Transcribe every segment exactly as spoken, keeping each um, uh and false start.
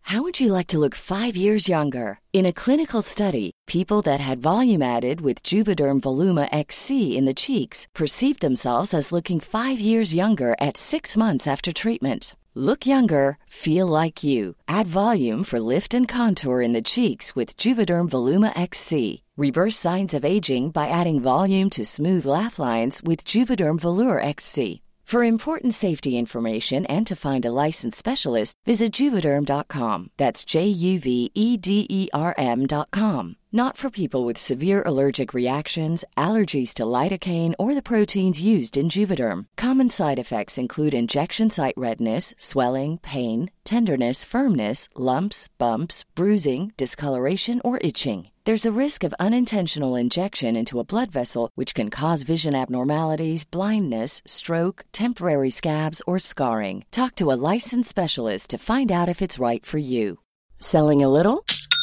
How would you like to look five years younger? In a clinical study, people that had volume added with Juvederm Voluma X C in the cheeks perceived themselves as looking five years younger at six months after treatment. Look younger, feel like you. Add volume for lift and contour in the cheeks with Juvederm Voluma X C. Reverse signs of aging by adding volume to smooth laugh lines with Juvederm Volure X C. For important safety information and to find a licensed specialist, visit Juvederm dot com. That's J U V E D E R M dot com. Not for people with severe allergic reactions, allergies to lidocaine, or the proteins used in Juvederm. Common side effects include injection site redness, swelling, pain, tenderness, firmness, lumps, bumps, bruising, discoloration, or itching. There's a risk of unintentional injection into a blood vessel, which can cause vision abnormalities, blindness, stroke, temporary scabs, or scarring. Talk to a licensed specialist to find out if it's right for you. Selling a little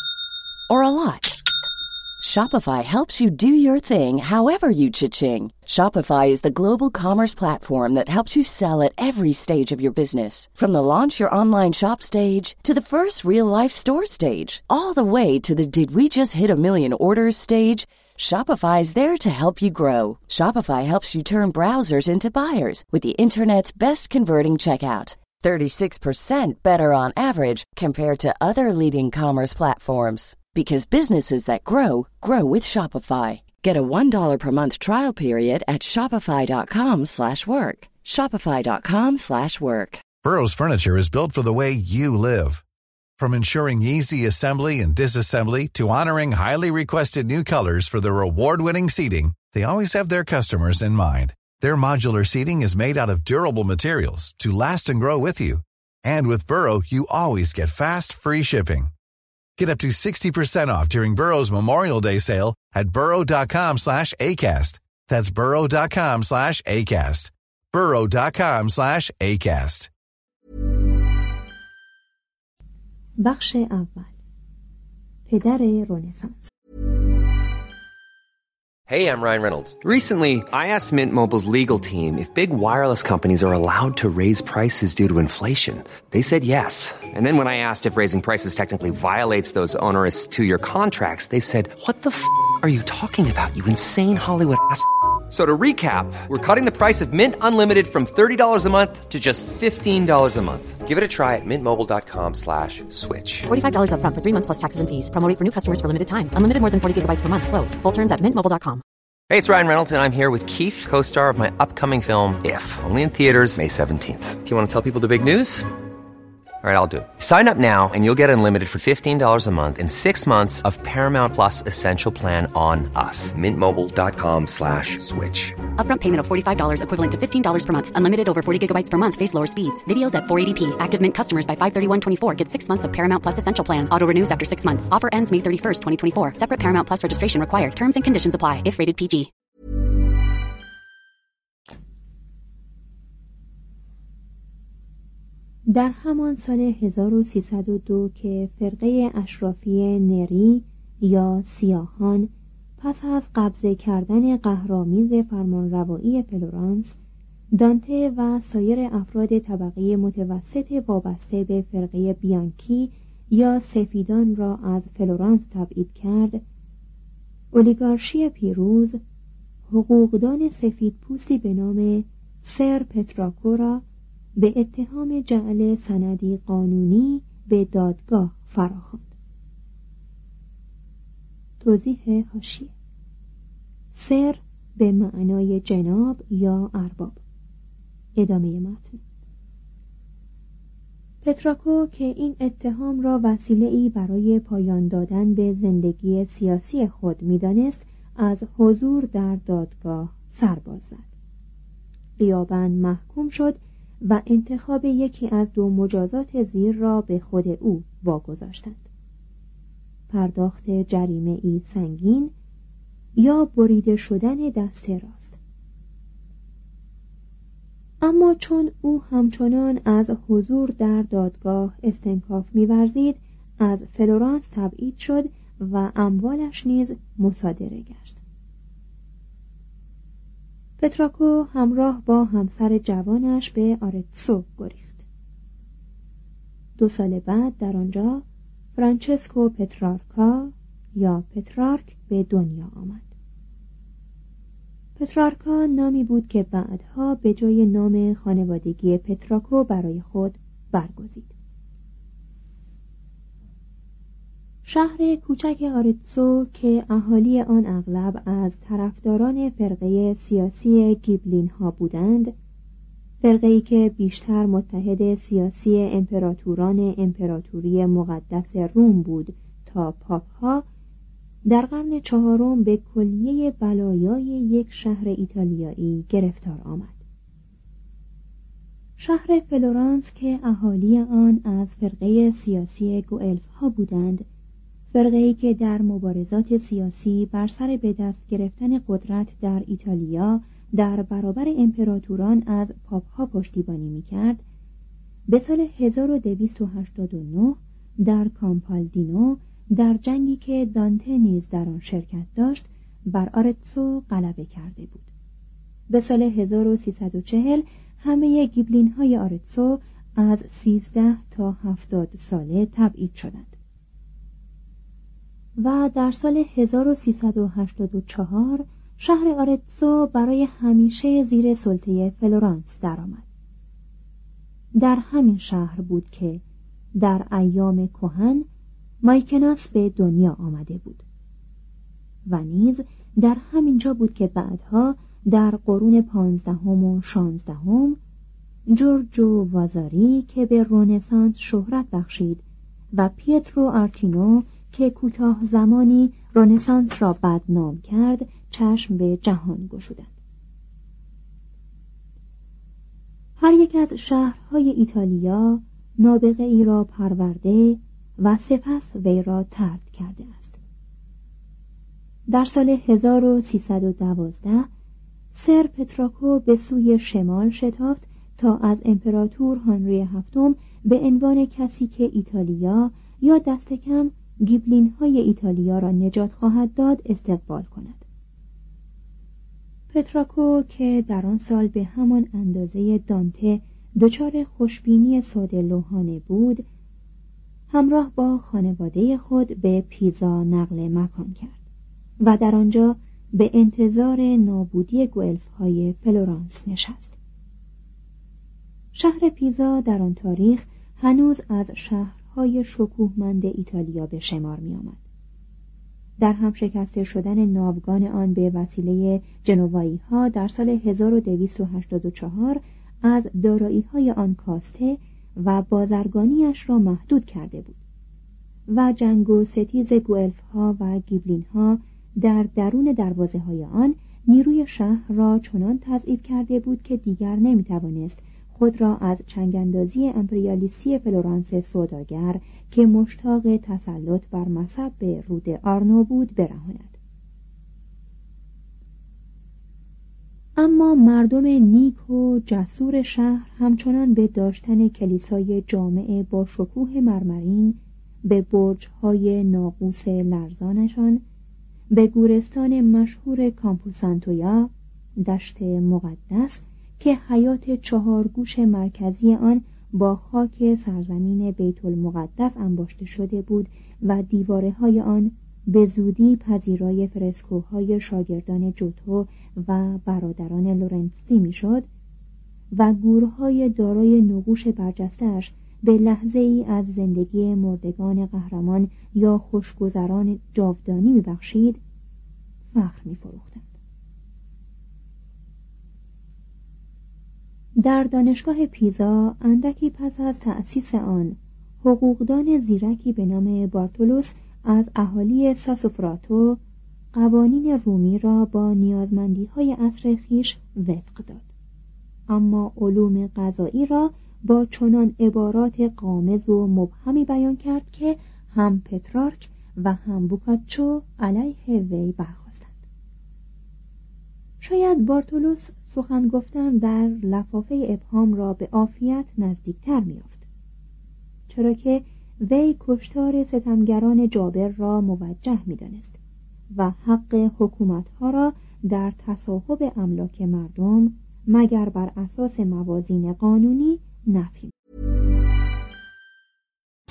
or a lot? Shopify helps you do your thing however you cha-ching. Shopify is the global commerce platform that helps you sell at every stage of your business. From the launch your online shop stage to the first real-life store stage, all the way to the did we just hit a million orders stage. Shopify is there to help you grow. Shopify helps you turn browsers into buyers with the internet's best converting checkout. thirty-six percent better on average compared to other leading commerce platforms. Because businesses that grow, grow with Shopify. Get a one dollar per month trial period at shopify.com slash work. Shopify.com slash work. Burrow's furniture is built for the way you live. From ensuring easy assembly and disassembly to honoring highly requested new colors for their award-winning seating, they always have their customers in mind. Their modular seating is made out of durable materials to last and grow with you. And with Burrow, you always get fast, free shipping. Get up to sixty percent off during Burrow's Memorial Day sale at burrow.com slash ACAST. That's burrow.com slash ACAST. burrow.com slash ACAST. بخش اول. پدر رنسانس. Hey, I'm Ryan Reynolds. Recently, I asked Mint Mobile's legal team if big wireless companies are allowed to raise prices due to inflation. They said yes. And then when I asked if raising prices technically violates those onerous two-year contracts, they said, what the f*** are you talking about, you insane Hollywood ass f- So to recap, we're cutting the price of Mint Unlimited from thirty dollars a month to just fifteen dollars a month. Give it a try at mintmobile.com slash switch. forty-five dollars up front for three months plus taxes and fees. Promo rate for new customers for limited time. Unlimited more than forty gigabytes per month. Slows full terms at mint mobile dot com. Hey, it's Ryan Reynolds, and I'm here with Keith, co-star of my upcoming film, If, only in theaters May seventeenth. Do you want to tell people the big news? All right, I'll do it. Sign up now and you'll get unlimited for fifteen dollars a month and six months of Paramount Plus Essential Plan on us. mintmobile.com slash switch. Upfront payment of forty-five dollars equivalent to fifteen dollars per month. Unlimited over forty gigabytes per month. Face lower speeds. Videos at four eighty p. Active Mint customers by five thirty-one twenty-four get six months of Paramount Plus Essential Plan. Auto renews after six months. Offer ends May thirty-first, twenty twenty-four. Separate Paramount Plus registration required. Terms and conditions apply if rated پی جی. در همان سال هزار و سیصد و دو که فرقه اشرافی نری یا سیاهان پس از قبضه کردن قهرآمیز فرمانروایی فلورانس، دانته و سایر افراد طبقه متوسط وابسته به فرقه بیانکی یا سفیدان را از فلورانس تبعید کرد، اولیگارشی پیروز حقوقدان سفیدپوستی به نام سر پتراکو را به اتهام جعل سندی قانونی به دادگاه فراخواند. توضیح حاشیه: سر به معنای جناب یا ارباب. ادامه متن. پتراکو که این اتهام را وسیله‌ای برای پایان دادن به زندگی سیاسی خود می‌دانست، از حضور در دادگاه سرباز زد. غیاباً محکوم شد و انتخاب یکی از دو مجازات زیر را به خود او واگذاشتند: پرداخت جریمه ای سنگین یا بریده شدن دست راست. اما چون او همچنان از حضور در دادگاه استنکاف می‌ورزید، از فلورانس تبعید شد و اموالش نیز مصادره گشت. پتراکو همراه با همسر جوانش به آرتسو گریخت. دو سال بعد در آنجا فرانچسکو پترارکا یا پترارک به دنیا آمد. پترارکا نامی بود که بعدها به جای نام خانوادگی پتراکو برای خود برگزید. شهر کوچک آرتسو که اهالی آن اغلب از طرفداران فرقه سیاسی گیبلین ها بودند، فرقه‌ای که بیشتر متحد سیاسی امپراتوران امپراتوری مقدس روم بود تا پاپ ها، در قرن چهارم به کلیه بلایای یک شهر ایتالیایی گرفتار آمد. شهر فلورانس که اهالی آن از فرقه سیاسی گوئلف ها بودند، فرقه‌ای که در مبارزات سیاسی بر سر به دست گرفتن قدرت در ایتالیا در برابر امپراتوران از پاپ ها پشتیبانی می‌کرد، به سال هزار و دویست و هشتاد و نه در کامپالدینو در جنگی که دانته نیز در آن شرکت داشت بر آرتسو غلبه کرده بود. به سال هزار و سیصد و چهل همه گیبلین های آرتسو از سیزده تا هفتاد ساله تبعید شدند و در سال هزار و سیصد و هشتاد و چهار شهر آرتسو برای همیشه زیر سلطه فلورانس درآمد. در همین شهر بود که در ایام کهن مایکناس به دنیا آمده بود و نیز در همین جا بود که بعدها در قرون پانزدهم و شانزدهم جورجو وازاری که به رنسانس شهرت بخشید و پیترو آرتینو که کوتاه زمانی رنسانس را بدنام کرد چشم به جهان گشودند. هر یک از شهرهای ایتالیا نابغه ای را پرورده و سپس وی را طرد کرده است. در سال هزار و سیصد و دوازده سر پتراکو به سوی شمال شتافت تا از امپراتور هنری هفتم به عنوان کسی که ایتالیا یا دست کم گیبلین های ایتالیا را نجات خواهد داد استقبال کند. پتراکو که در آن سال به همان اندازه دانته دچار خوشبینی ساده لوحانه بود، همراه با خانواده خود به پیزا نقل مکان کرد و در آنجا به انتظار نابودی گوئلف های فلورانس نشست. شهر پیزا در آن تاریخ هنوز از شهرهای شکوهمند ایتالیا به شمار می آمد. در هم شکسته شدن ناوگان آن به وسیله جنوایی ها در سال هزار و دویست و هشتاد و چهار از دارایی های آن کاسته و بازرگانیش را محدود کرده بود و جنگ و ستیز گوئلف ها و گیبلین ها در درون دروازه های آن نیروی شهر را چنان تضعیف کرده بود که دیگر نمی توانست خود را از چنگاندازی امپریالیستی فلورانس سوداگر که مشتاق تسلط بر مصب به رود آرنو بود برهاند. اما مردم نیک و جسور شهر همچنان به داشتن کلیسای جامع با شکوه مرمرین، به برج‌های ناقوس لرزانشان، به گورستان مشهور کامپوسانتویا، دشت مقدس که حیات چهارگوش مرکزی آن با خاک سرزمین بیت المقدس انباشته شده بود و دیوارهای آن به زودی پذیرای فرسکوهای شاگردان جوتو و برادران لورنسی میشد و گورهای دارای نقوش برجسته‌اش به لحظه ای از زندگی مردگان قهرمان یا خوشگذران جاودانی میبخشید، فخر می‌فروختند. در دانشگاه پیزا اندکی پس از تأسیس آن، حقوقدان زیرکی به نام بارتولوس از اهالی ساسوفراتو قوانین رومی را با نیازمندی‌های عصر خویش وفق داد، اما علوم قضایی را با چنان عبارات غامض و مبهمی بیان کرد که هم پترارک و هم بوکاچو علیه وی برخاستند. شاید بارتولوس سخن گفتن در لفافه ابهام را به عافیت نزدیکتر می‌یافت، چرا که وی کشتار ستمگران جابر را موجه می‌دانست و حق حکومت‌ها را در تصاحب املاک مردم مگر بر اساس موازین قانونی نفی.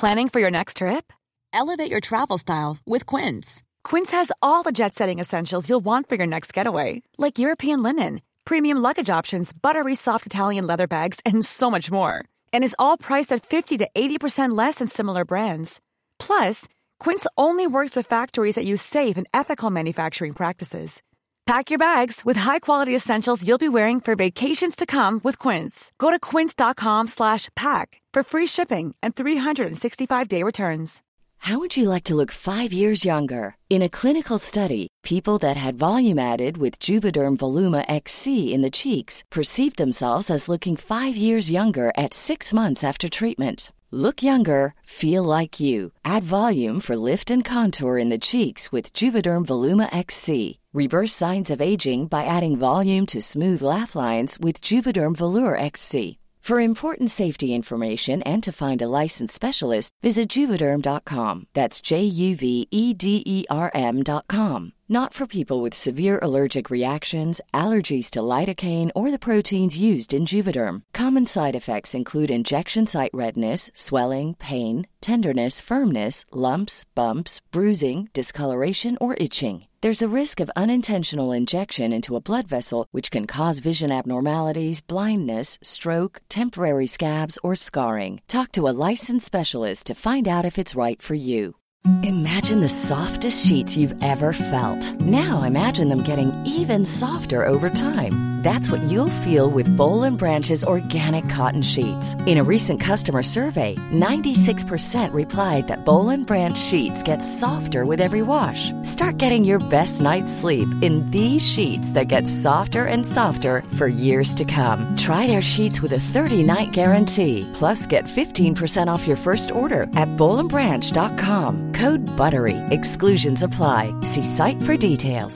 Planning for your next trip? Elevate your travel style with Quince. Quince has all the jet-setting essentials you'll want for your next getaway, like European linen, premium luggage options, buttery soft Italian leather bags, and so much more. And is all priced at fifty to eighty percent less than similar brands. Plus, Quince only works with factories that use safe and ethical manufacturing practices. Pack your bags with high-quality essentials you'll be wearing for vacations to come with Quince. Go to quince.com slash pack for free shipping and three sixty-five day returns. How would you like to look five years younger? In a clinical study, people that had volume added with Juvederm Voluma X C in the cheeks perceived themselves as looking five years younger at six months after treatment. Look younger, feel like you. Add volume for lift and contour in the cheeks with Juvederm Voluma X C. Reverse signs of aging by adding volume to smooth laugh lines with Juvederm Volure X C. For important safety information and to find a licensed specialist, visit Juvederm dot com. That's J U V E D E R M dot com. Not for people with severe allergic reactions, allergies to lidocaine, or the proteins used in Juvederm. Common side effects include injection site redness, swelling, pain, tenderness, firmness, lumps, bumps, bruising, discoloration, or itching. There's a risk of unintentional injection into a blood vessel, which can cause vision abnormalities, blindness, stroke, temporary scabs, or scarring. Talk to a licensed specialist to find out if it's right for you. Imagine the softest sheets you've ever felt. Now imagine them getting even softer over time. That's what you'll feel with Boll and Branch's organic cotton sheets. In a recent customer survey, ninety-six percent replied that Boll and Branch sheets get softer with every wash. Start getting your best night's sleep in these sheets that get softer and softer for years to come. Try their sheets with a thirty-night guarantee. Plus, get fifteen percent off your first order at boll and branch dot com. Code BUTTERY. Exclusions apply. See site for details.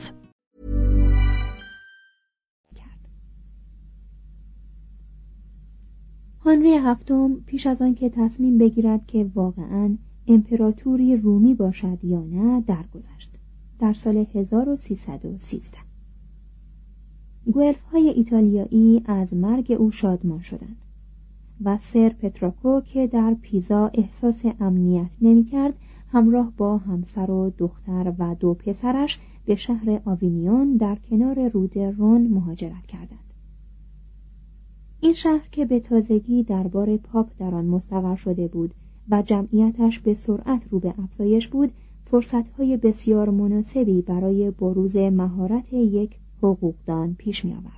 هنری هفتم پیش از آن که تصمیم بگیرد که واقعاً امپراتوری رومی باشد یا نه درگذشت. در سال هزار و سیصد و سیزده گوئلف‌های ایتالیایی از مرگ او شادمان شدند و سر پتراکو که در پیزا احساس امنیت نمی‌کرد، همراه با همسر و دختر و دو پسرش به شهر آوینیون در کنار رود رون مهاجرت کردند. این شهر که به تازگی دربار پاپ در آن مستقر شده بود و جمعیتش به سرعت رو به افزایش بود، فرصت‌های بسیار مناسبی برای بروز مهارت یک حقوقدان پیش می‌آورد.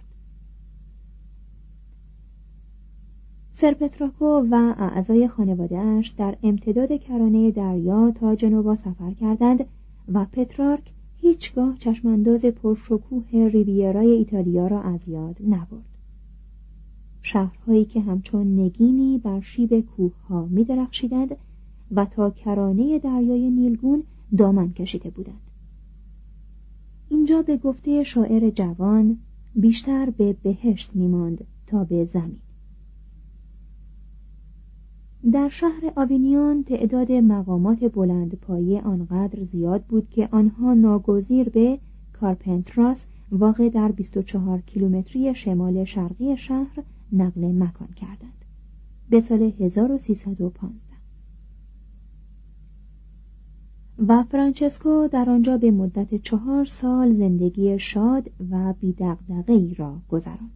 سر پتراکو و اعضای خانواده‌اش در امتداد کرانه دریا تا جنوا سفر کردند و پترارک هیچگاه چشمانداز پرشکوه ریویرای ایتالیا را از یاد نبرد. شهرهایی که همچون نگینی بر شیب کوه‌ها می‌درخشیدند و تا کرانه دریای نیلگون دامن کشیده بودند. اینجا به گفته شاعر جوان بیشتر به بهشت می‌ماند تا به زمین. در شهر آوینیون تعداد مقامات بلندپایه آنقدر زیاد بود که آنها ناگزیر به کارپنتراس واقع در بیست و چهار کیلومتری شمال شرقی شهر نقل مکان کردند. به سال هزار و سیصد و پانزده و فرانچسکو در آنجا به مدت چهار سال زندگی شاد و بی‌دغدغه‌ای را گذراند.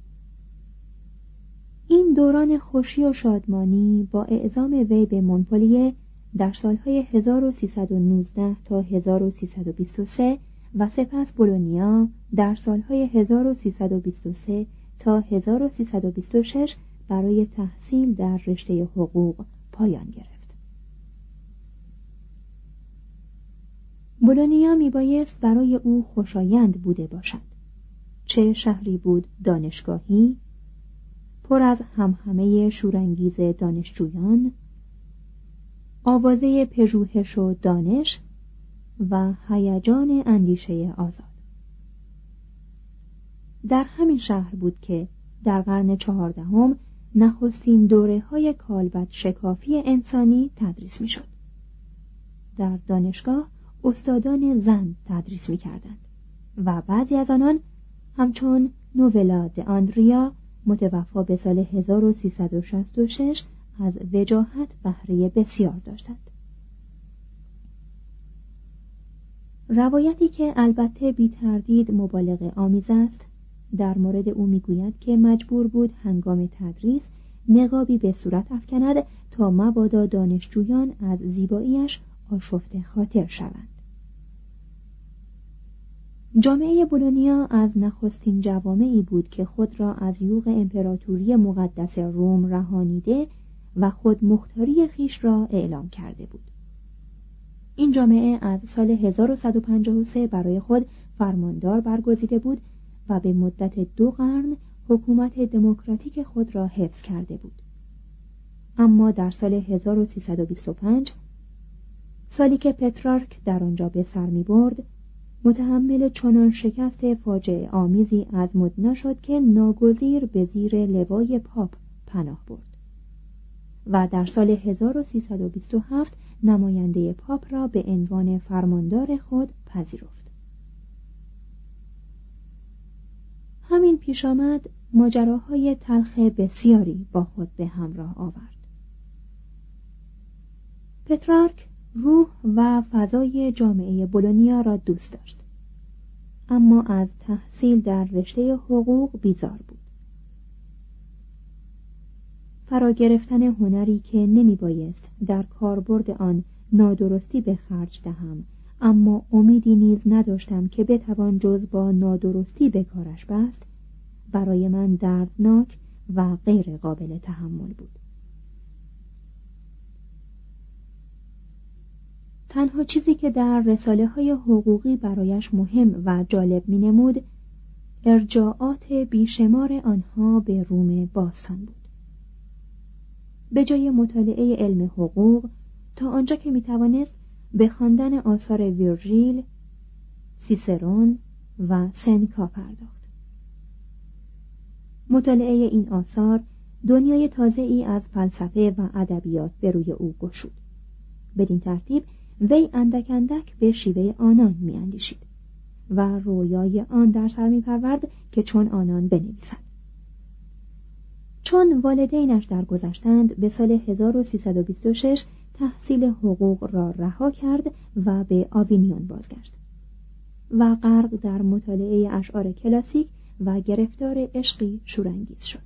این دوران خوشی و شادمانی با اعزام وی به مونپلیه در سالهای هزار و سیصد و نوزده تا هزار و سیصد و بیست و سه و سپس بولونیا در سالهای هزار و سیصد و بیست و سه تا هزار و سیصد و بیست و شش برای تحصیل در رشته حقوق پایان گرفت. بولونیا میبایست برای او خوشایند بوده باشد. چه شهری بود دانشگاهی، پر از همهمه شورانگیز دانشجویان، آوازه پژوهش و دانش و هیجان اندیشه آزاد. در همین شهر بود که در قرن چهاردهم نخستین دوره‌های کالبد شکافی انسانی تدریس می‌شد. در دانشگاه استادان زن تدریس می‌کردند و بعضی از آنان همچون نوولا د آندریا متوفا به سال هزار و سیصد و شصت و شش از وجاهت بهره بسیار داشتند. روایتی که البته بی تردید مبالغه آمیز است در مورد او میگوید که مجبور بود هنگام تدریس نقابی به صورت افکند تا مبادا دانشجویان از زیباییش آشفته خاطر شوند. جامعه بولونیا از نخستین جوامعی بود که خود را از یوغ امپراتوری مقدس روم رهانیده و خود مختاری خیش را اعلام کرده بود. این جامعه از سال هزار و صد و پنجاه و سه برای خود فرماندار برگزیده بود و به مدت دو قرن حکومت دموکراتیک خود را حفظ کرده بود. اما در سال هزار و سیصد و بیست و پنج، سالی که پترارک در آنجا به سر می برد، متحمل چنان شکست فاجعه آمیزی از مدنا شد که ناگزیر به زیر لوای پاپ پناه برد و در سال هزار و سیصد و بیست و هفت نماینده پاپ را به عنوان فرماندار خود پذیرفت. همین پیش آمد ماجراهای تلخ بسیاری با خود به همراه آورد. پترارک روح و فضای جامعه بولونیا را دوست داشت، اما از تحصیل در رشته حقوق بیزار بود. فرا گرفتن هنری که نمی بایست در کاربرد آن نادرستی به خرج دهم، اما امیدی نیز نداشتم که بتوان جز با نادرستی به کارش بست، برای من دردناک و غیر قابل تحمل بود. تنها چیزی که در رساله های حقوقی برایش مهم و جالب می نمود ارجاعات بیشمار آنها به روم باستان بود. به جای مطالعه علم حقوق تا آنجا که می توانست به خواندن آثار ویرژیل، سیسرون و سنکا پرداخت. مطالعه این آثار دنیای تازه‌ای از فلسفه و ادبیات به روی او گشود. بدین ترتیب وی اندک اندک به شیوه آنان می اندیشید و رویای آن در سر می پرورد که چون آنان بنویسد. چون والدینش درگذشتند به سال هزار و سیصد و بیست و شش تحصیل حقوق را رها کرد و به آوینیون بازگشت و غرق در مطالعه اشعار کلاسیک و گرفتار عشقی شورانگیز شد.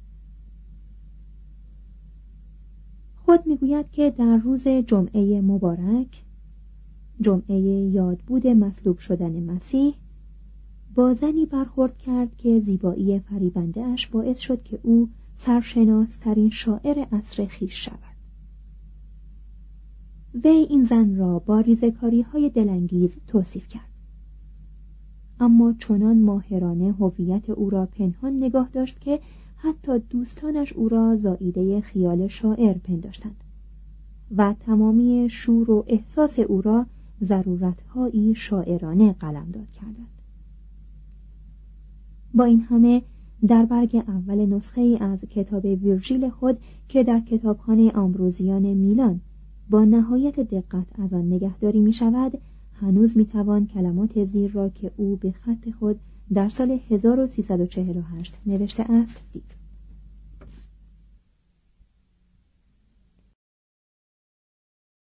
خود میگوید که در روز جمعه مبارک، جمعه یادبود مصلوب شدن مسیح، با زنی برخورد کرد که زیبایی فریبنده اش باعث شد که او سرشناس ترین شاعر عصر خویش شود. وی این زن را با ریزه‌کاری های دلانگیز توصیف کرد، اما چنان ماهرانه هویت او را پنهان نگاه داشت که حتی دوستانش او را زائیده خیال شاعر پنداشتند و تمامی شور و احساس او را ضرورت‌هایی شاعرانه قلمداد کردند. با این همه در برگ اول نسخه ای از کتاب ویرژیل خود که در کتابخانه آمبروزیان میلان با نهایت دقت از آن نگهداری می شود، هنوز می توان کلمات زیر را که او به خط خود در سال هزار و سیصد و چهل و هشت نوشته است دید.